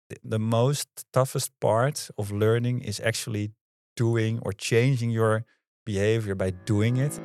the most toughest part of learning is actually doing or changing your behavior by doing it.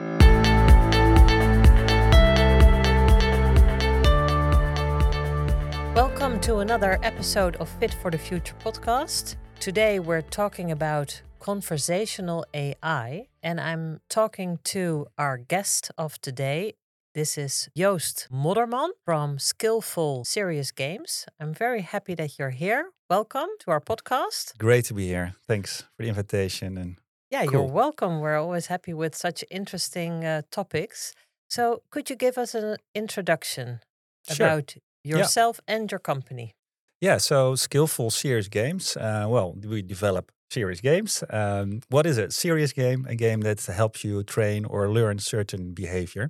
Welcome to another episode of Fit for the Future podcast. Today we're talking about conversational AI, and I'm talking to our guest of today. This is Joost Modderman from Skillful Serious Games. I'm very happy that you're here. Welcome to our podcast. Great to be here. Thanks for the invitation. And Yeah, cool. You're welcome. We're always happy with such interesting topics. So, could you give us an introduction Sure. about yourself and your company? Yeah, so Skillful Serious Games. We develop serious games. What is it? Serious game, a game that helps you train or learn certain behavior.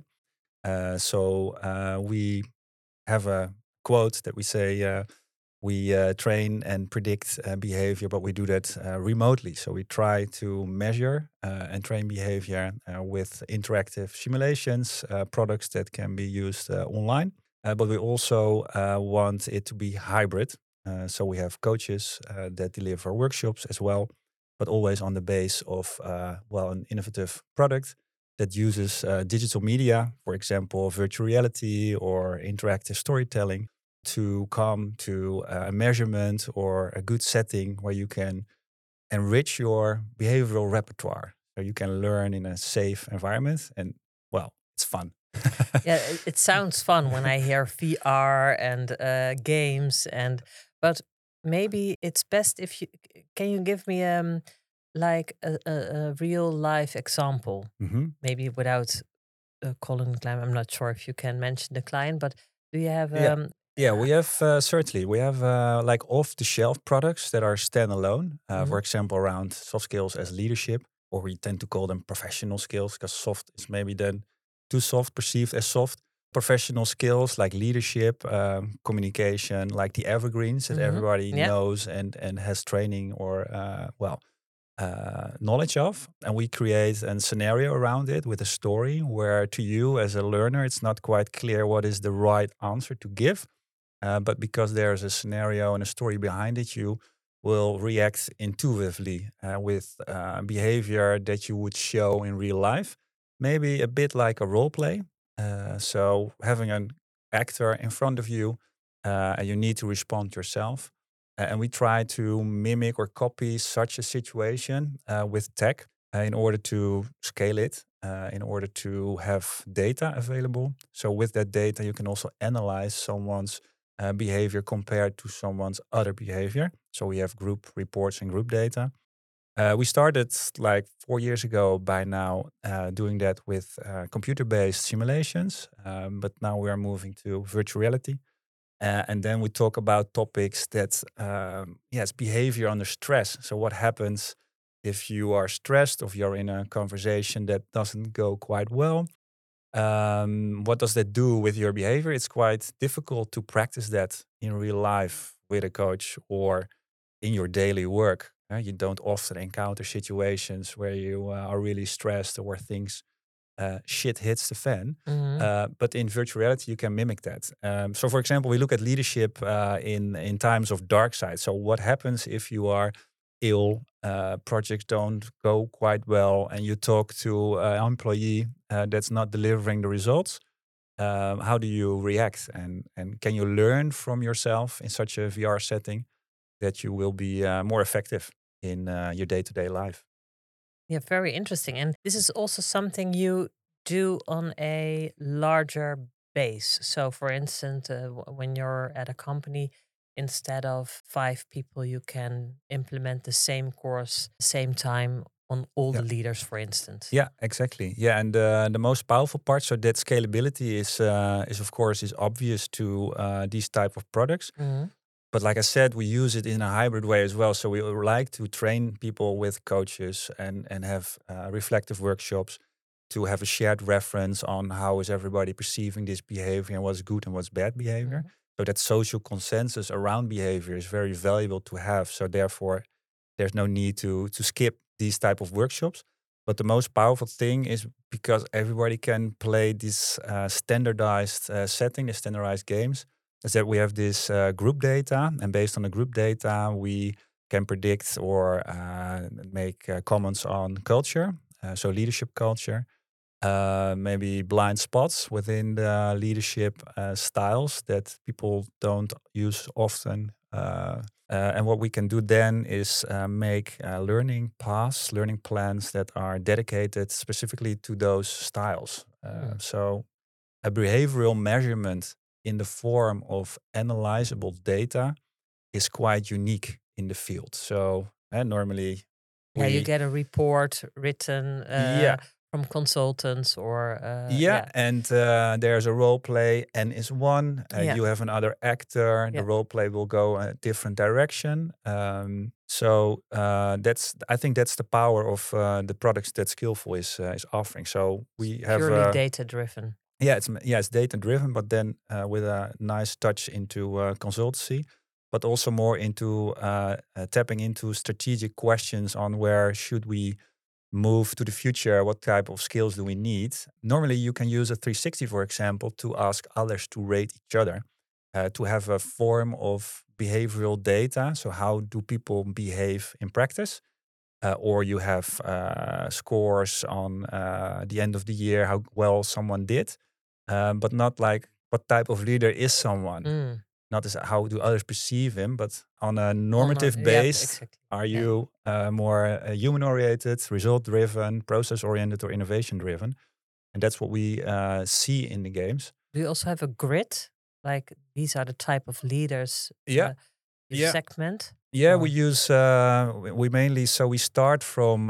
We have a quote that we say we train and predict behavior, but we do that remotely. So we try to measure and train behavior with interactive simulations, products that can be used online. But we also want it to be hybrid. So we have coaches that deliver workshops as well, but always on the base of an innovative product that uses digital media, for example, virtual reality or interactive storytelling, to come to a measurement or a good setting where you can enrich your behavioral repertoire. So you can learn in a safe environment, and it's fun. Yeah, it sounds fun when I hear VR and games, but maybe it's best if you can you give me like a real life example, maybe without calling the client. I'm not sure if you can mention the client, but do you have Yeah, we have certainly. We have like off-the-shelf products that are standalone. For example, around soft skills as leadership, or we tend to call them professional skills because soft is maybe then too soft, perceived as soft. Professional skills like leadership, communication, like the evergreens that everybody knows and has training or knowledge of. And we create a scenario around it with a story where to you as a learner, it's not quite clear what is the right answer to give. But because there's a scenario and a story behind it, you will react intuitively with behavior that you would show in real life. Maybe a bit like a role play. So having an actor in front of you, and you need to respond yourself. And we try to mimic or copy such a situation with tech in order to scale it, in order to have data available. So with that data, you can also analyze someone's behavior compared to someone's other behavior. So we have group reports and group data. We started like 4 years ago by now doing that with computer-based simulations, but now we are moving to virtual reality. And then we talk about topics that, behavior under stress. So what happens if you are stressed, if you're in a conversation that doesn't go quite well? What does that do with your behavior? It's quite difficult to practice that in real life with a coach or in your daily work. You don't often encounter situations where you are really stressed or where things shit hits the fan. But in virtual reality, you can mimic that. So, for example, we look at leadership in times of dark side. So, what happens if you are ill, projects don't go quite well, and you talk to an employee that's not delivering the results? How do you react? And can you learn from yourself in such a VR setting that you will be more effective in your day-to-day life? Yeah, very interesting. And this is also something you do on a larger base. So, for instance, when you're at a company, instead of 5 people, you can implement the same course, same time on all the leaders, for instance. Yeah, exactly. Yeah, and the most powerful part, so that scalability is of course is obvious to these type of products. But like I said, we use it in a hybrid way as well. So we like to train people with coaches and have reflective workshops to have a shared reference on how is everybody perceiving this behavior and what's good and what's bad behavior. So that social consensus around behavior is very valuable to have. So therefore, there's no need to skip these type of workshops. But the most powerful thing is because everybody can play this standardized setting, the standardized games. is that we have this group data, and based on the group data, we can predict or make comments on culture, so leadership culture, maybe blind spots within the leadership styles that people don't use often. And what we can do then is make learning paths, learning plans that are dedicated specifically to those styles. So a behavioral measurement in the form of analyzable data is quite unique in the field. So normally you get a report written yeah. from consultants or And there's a role play. N is one. You have another actor. The role play will go a different direction. I think that's the power of the products that Skillful is offering. So we have purely data driven. It's data driven, but then with a nice touch into consultancy, but also more into tapping into strategic questions on where should we move to the future, what type of skills do we need. Normally you can use a 360, for example, to ask others to rate each other, to have a form of behavioral data. So how do people behave in practice? Or you have scores on the end of the year, how well someone did, but not like what type of leader is someone. Not as how do others perceive him, but on a normative base. Exactly. Are you more human-oriented, result-driven, process-oriented, or innovation-driven? And that's what we see in the games. Do you also have a grid? Like these are the type of leaders you segment? Yeah, we use, we mainly, so we start from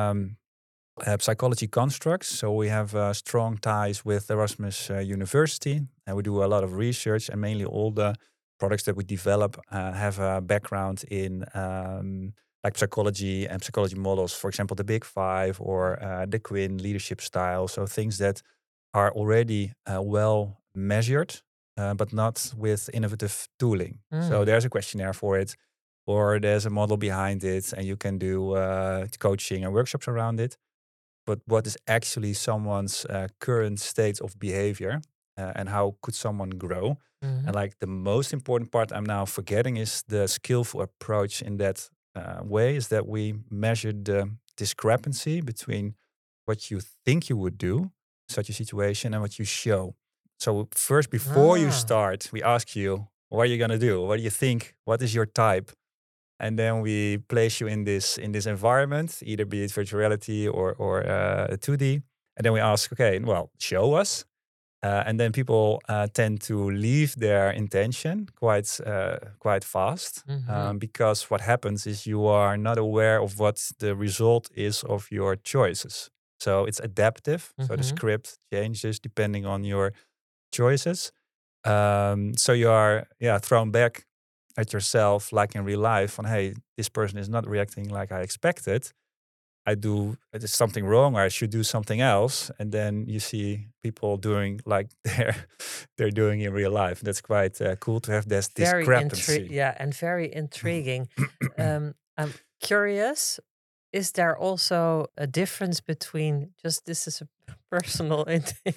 psychology constructs. So we have strong ties with Erasmus University, and we do a lot of research, and mainly all the products that we develop have a background in like psychology and psychology models. For example, the Big Five or the Quinn leadership style. So things that are already well measured, but not with innovative tooling. So there's a questionnaire for it, or there's a model behind it, and you can do coaching and workshops around it. But what is actually someone's current state of behavior, and how could someone grow? And like the most important part I'm now forgetting is the skillful approach in that way is that we measure the discrepancy between what you think you would do in such a situation and what you show. So first, before you start, we ask you, what are you going to do? What do you think? What is your type? And then we place you in this environment, either be it virtual reality or 2D. And then we ask, okay, well, show us. And then people tend to leave their intention quite fast, because what happens is you are not aware of what the result is of your choices. So it's adaptive. So the script changes depending on your choices. So you are thrown back at yourself, like in real life, on hey, this person is not reacting like I expected. There's something wrong, or I should do something else. And then you see people doing like they're doing in real life. That's quite cool to have this discrepancy. And very intriguing. I'm curious. Is there also a difference between this is a personal?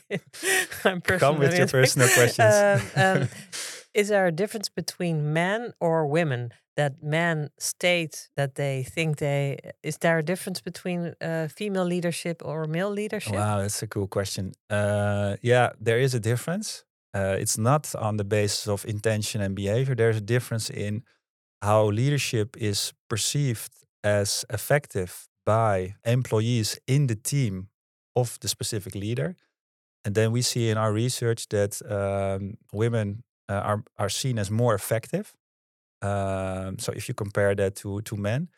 Come with your personal questions. Is there a difference between men or women? That men state that they think is there a difference between female leadership or male leadership? Wow, that's a cool question. There is a difference. It's not on the basis of intention and behavior. There's a difference in how leadership is perceived as effective by employees in the team of the specific leader. And then we see in our research that women are seen as more effective. So if you compare that to men,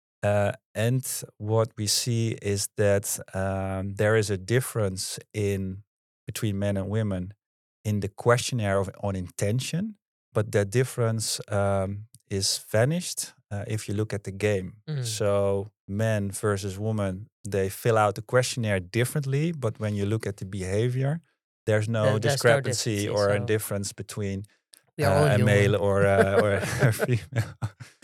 and what we see is that there is a difference between men and women in the questionnaire on intention, but that difference is vanished if you look at the game. So men versus women, they fill out the questionnaire differently, but when you look at the behavior, there's no discrepancy or a difference between a male or a female.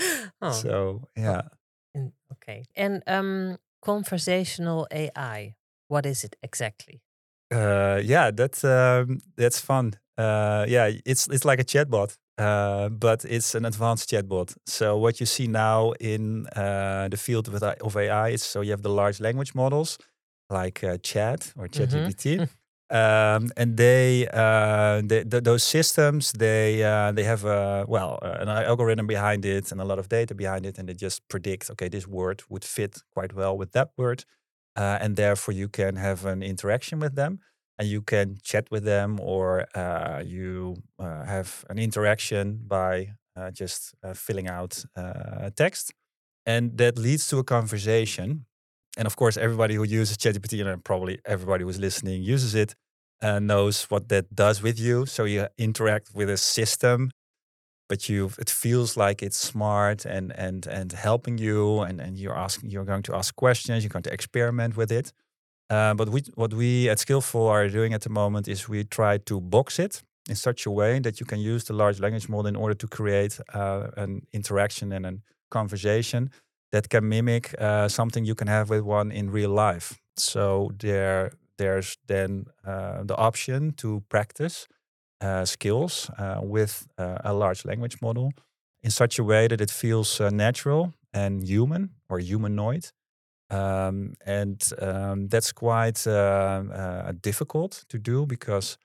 So yeah. Okay. And conversational AI, what is it exactly? That's fun. It's like a chatbot, but it's an advanced chatbot. So what you see now in the field of AI is, so you have the large language models like Chat or ChatGPT, and those systems they have an algorithm behind it and a lot of data behind it, and they just predict, okay, this word would fit quite well with that word, and therefore you can have an interaction with them. And you can chat with them, or you have an interaction by just filling out text. And that leads to a conversation. And of course, everybody who uses ChatGPT, and probably everybody who's listening uses it, knows what that does with you. So you interact with a system, but it feels like it's smart and helping you, and you're going to ask questions, you're going to experiment with it. But what we at Skillful are doing at the moment is we try to box it in such a way that you can use the large language model in order to create an interaction and a conversation that can mimic something you can have with one in real life. So there's then the option to practice skills with a large language model in such a way that it feels natural and human or humanoid. That's quite difficult to do because,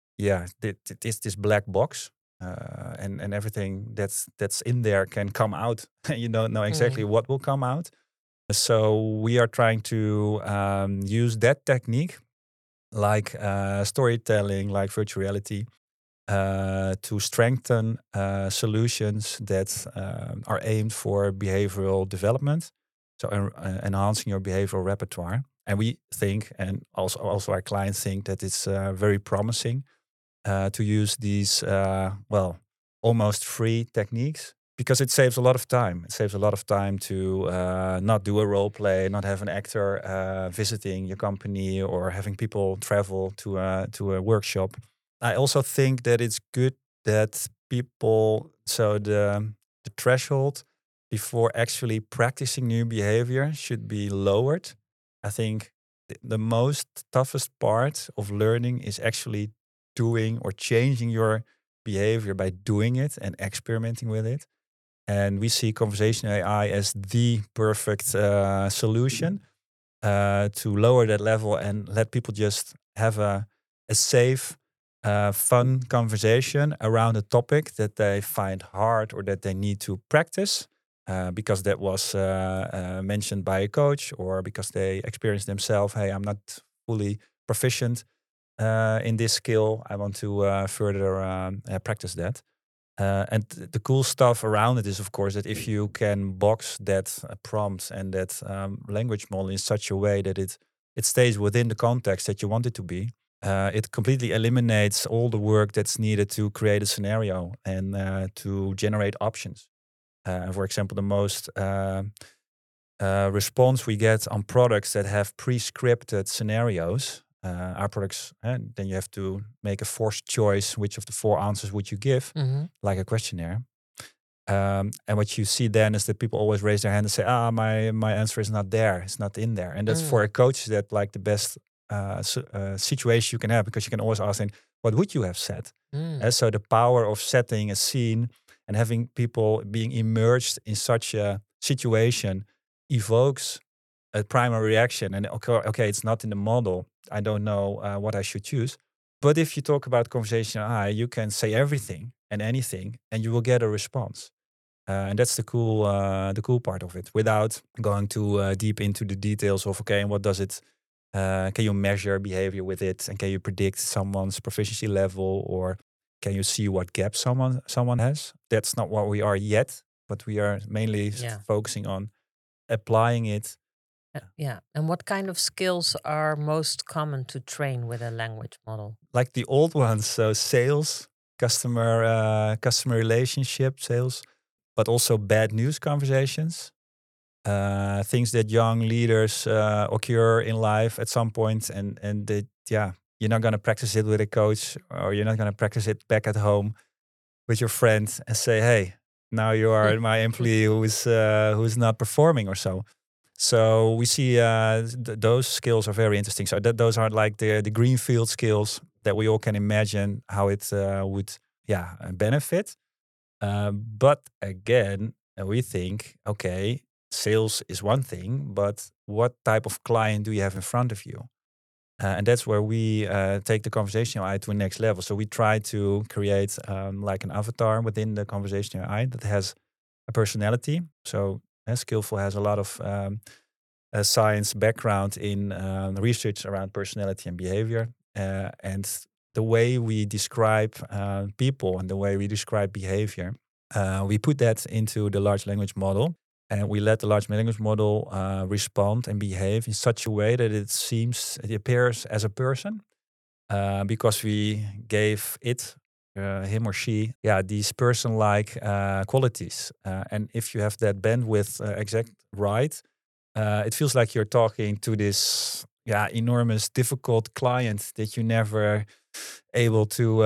it is this black box, and everything that's in there can come out. You don't know exactly what will come out. So we are trying to use that technique, like storytelling, like virtual reality, to strengthen solutions that are aimed for behavioral development. So enhancing your behavioral repertoire. And we think, and also our clients think, that it's very promising to use these, almost free techniques, because it saves a lot of time. It saves a lot of time to not do a role play, not have an actor visiting your company, or having people travel to a workshop. I also think that it's good that people, so the threshold before actually practicing new behavior should be lowered. I think the most toughest part of learning is actually doing or changing your behavior by doing it and experimenting with it. And we see conversational AI as the perfect solution to lower that level and let people just have a safe, fun conversation around a topic that they find hard or that they need to practice because that was mentioned by a coach, or because they experienced themselves, hey, I'm not fully proficient in this skill. I want to further practice that. And the cool stuff around it is, of course, that if you can box that prompt and that language model in such a way that it stays within the context that you want it to be, it completely eliminates all the work that's needed to create a scenario and to generate options. For example, the most response we get on products that have pre-scripted scenarios, our products, and then you have to make a forced choice. Which of the 4 answers would you give, like a questionnaire? And what you see then is that people always raise their hand and say, my answer is not there. It's not in there. And that's for a coach that like the best situation you can have, because you can always ask them, what would you have said? And so the power of setting a scene and having people being immersed in such a situation evokes a primary reaction. And okay, it's not in the model. I don't know what I should choose. But if you talk about conversational AI, you can say everything and anything, and you will get a response. And that's the cool part of it, without going too deep into the details of, okay, and what does it, can you measure behavior with it? And can you predict someone's proficiency level? Or can you see what gaps someone has? That's not what we are yet, but we are mainly focusing on applying it. And what kind of skills are most common to train with a language model? Like the old ones, so sales, customer relationship, sales, but also bad news conversations, things that young leaders occur in life at some point, and they, you're not going to practice it with a coach, or you're not going to practice it back at home with your friend and say, hey, now you are my employee who's not performing or so. So we see those skills are very interesting. So those are like the greenfield skills that we all can imagine how it would benefit. But again, we think, okay, sales is one thing, but what type of client do you have in front of you? And that's where we take the conversational AI to a next level. So we try to create like an avatar within the conversational AI that has a personality. So Skillful has a lot of science background in research around personality and behavior. And the way we describe people and the way we describe behavior, we put that into the large language model. And we let the large language model respond and behave in such a way that it appears as a person, because we gave it, him or she, these person-like qualities. And if you have that bandwidth exact right, it feels like you're talking to this enormous, difficult client that you never able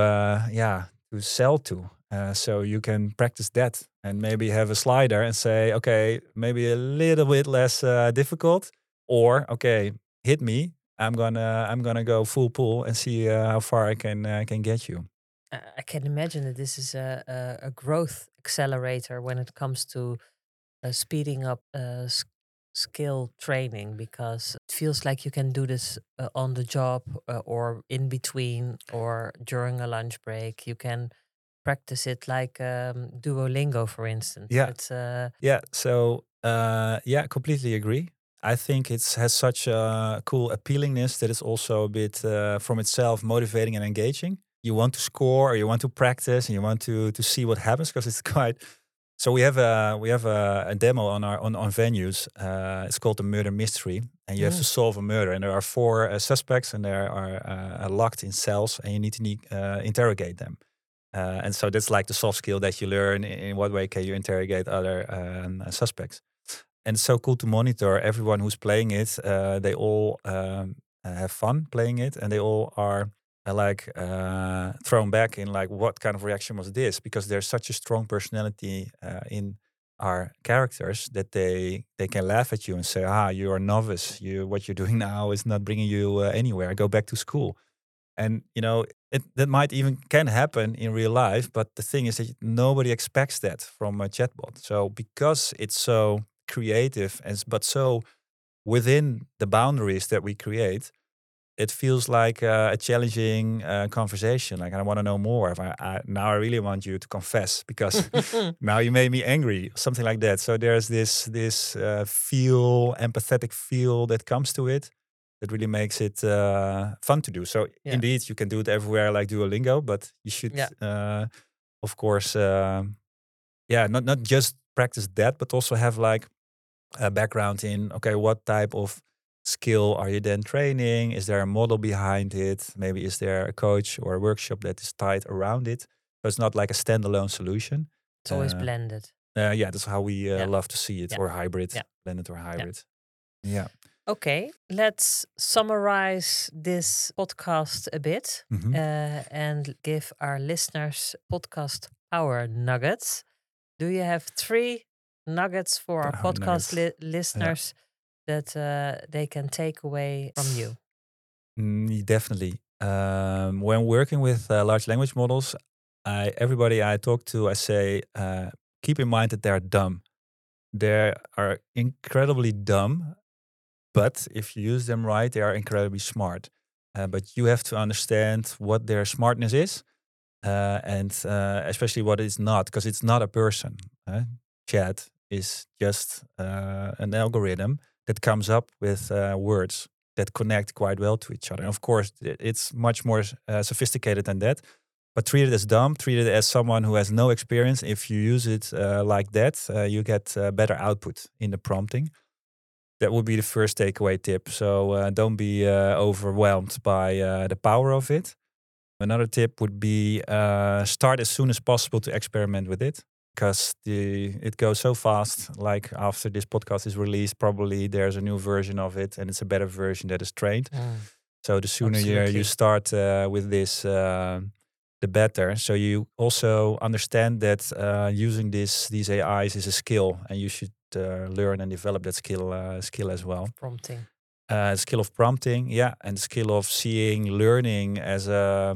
to sell to. So you can practice that and maybe have a slider and say, okay, maybe a little bit less difficult, or okay, hit me. I'm gonna go full pull and see how far I can get you. I can imagine that this is a growth accelerator when it comes to speeding up skill training, because it feels like you can do this on the job, or in between, or during a lunch break. You can practice it like Duolingo, for instance. Yeah. It's Yeah. So completely agree. I think it has such a cool appealingness that it's also a bit from itself motivating and engaging. You want to score, or you want to practice, and you want to see what happens, because it's quite. So we have a demo on venues. It's called the murder mystery, and you have to solve a murder. And there are 4 suspects, and they are locked in cells, and you need to interrogate them. And so that's like the soft skill that you learn. In what way can you interrogate other suspects? And it's so cool to monitor everyone who's playing it. They all have fun playing it, and they all are thrown back in like, what kind of reaction was this? Because there's such a strong personality in our characters that they can laugh at you and say, you're a novice. What you're doing now is not bringing you anywhere. Go back to school. And that might even can happen in real life, but the thing is that nobody expects that from a chatbot. So because it's so creative but so within the boundaries that we create, it feels like a challenging conversation. Like, I want to know more. If now I really want you to confess, because now you made me angry, something like that. So there's this empathetic feel that comes to it, that really makes it fun to do. So indeed, you can do it everywhere like Duolingo, but you should, of course, not just practice that, but also have like a background in, okay, what type of skill are you then training? Is there a model behind it? Maybe is there a coach or a workshop that is tied around it? So it's not like a standalone solution. It's always blended. That's how we love to see it, or hybrid, blended or hybrid. Yeah. Okay, let's summarize this podcast a bit and give our listeners podcast power nuggets. Do you have 3 nuggets for our podcast listeners that they can take away from you? Definitely. When working with large language models, everybody I talk to, I say, keep in mind that they're dumb. They are incredibly dumb, but if you use them right, they are incredibly smart. But you have to understand what their smartness is, and especially what it's not, because it's not a person. Chat is just an algorithm that comes up with words that connect quite well to each other. And of course, it's much more sophisticated than that. But treat it as dumb, treat it as someone who has no experience. If you use it like that, you get better output in the prompting. That would be the first takeaway tip. So don't be overwhelmed by the power of it. Another tip would be start as soon as possible to experiment with it, because it goes so fast. Like after this podcast is released, probably there's a new version of it, and it's a better version that is trained. So the sooner you start with this, the better. So you also understand that using these AIs is a skill, and you should learn and develop that skill as well. Prompting. Skill of prompting, and skill of seeing learning as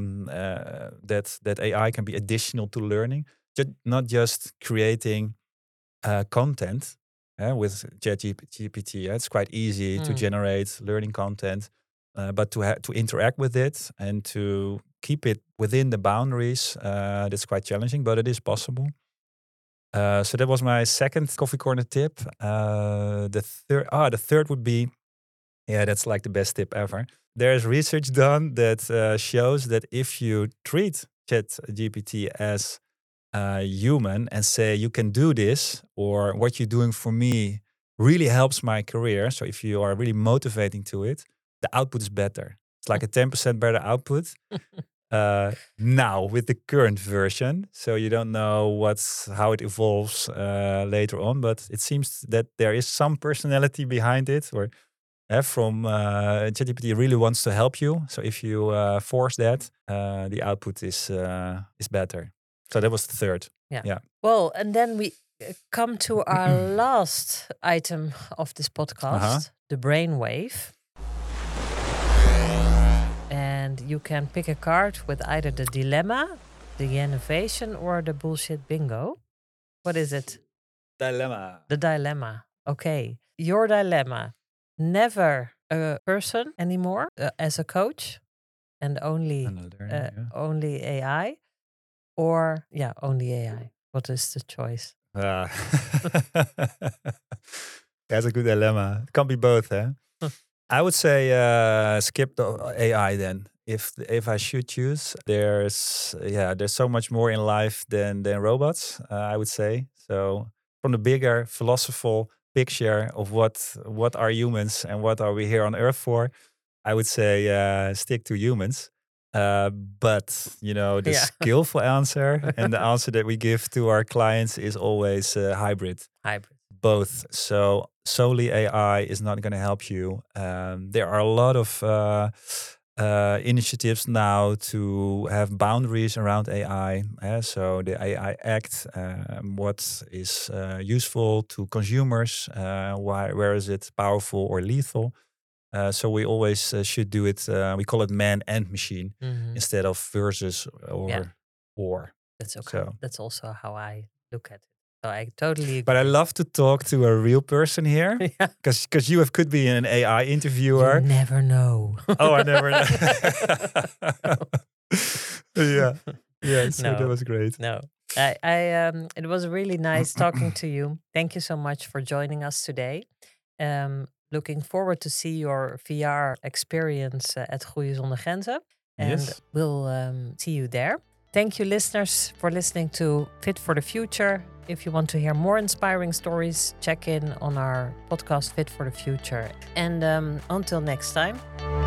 that AI can be additional to learning, not just creating content with ChatGPT. It's quite easy to generate learning content, but to interact with it and to keep it within the boundaries, that's quite challenging, but it is possible. So that was my second coffee corner tip. The third would be, that's like the best tip ever. There's research done that shows that if you treat ChatGPT as human and say, you can do this, or what you're doing for me really helps my career. So if you are really motivating to it, the output is better. It's like a 10% better output now with the current version. So you don't know how it evolves later on, but it seems that there is some personality behind it, or from ChatGPT really wants to help you. So if you force that, the output is better. So that was the third. Yeah. Well, and then we come to our last item of this podcast, the brainwave. And you can pick a card with either the dilemma, the innovation, or the bullshit bingo. What is it? Dilemma. The dilemma. Okay. Your dilemma. Never a person anymore as a coach and only only AI. Or, only AI. What is the choice? That's a good dilemma. It can't be both, eh? I would say skip the AI then. If I should choose, there's so much more in life than robots, I would say. So from the bigger philosophical picture of what are humans and what are we here on Earth for, I would say stick to humans. But the skillful answer and the answer that we give to our clients is always hybrid. Both. So solely AI is not going to help you. There are a lot of initiatives now to have boundaries around AI. So the AI Act, what is useful to consumers, where is it powerful or lethal? So we always should do it. We call it man and machine instead of versus or. That's okay. So that's also how I look at it. So I totally agree. But I love to talk to a real person here, because you could be an AI interviewer. You never know. Oh, I never know. So that was great. No, it was really nice talking to you. Thank you so much for joining us today. Looking forward to see your VR experience at Groeien Zonder Grenzen. And we'll see you there. Thank you, listeners, for listening to Fit for the Future. If you want to hear more inspiring stories, check in on our podcast Fit for the Future. And until next time.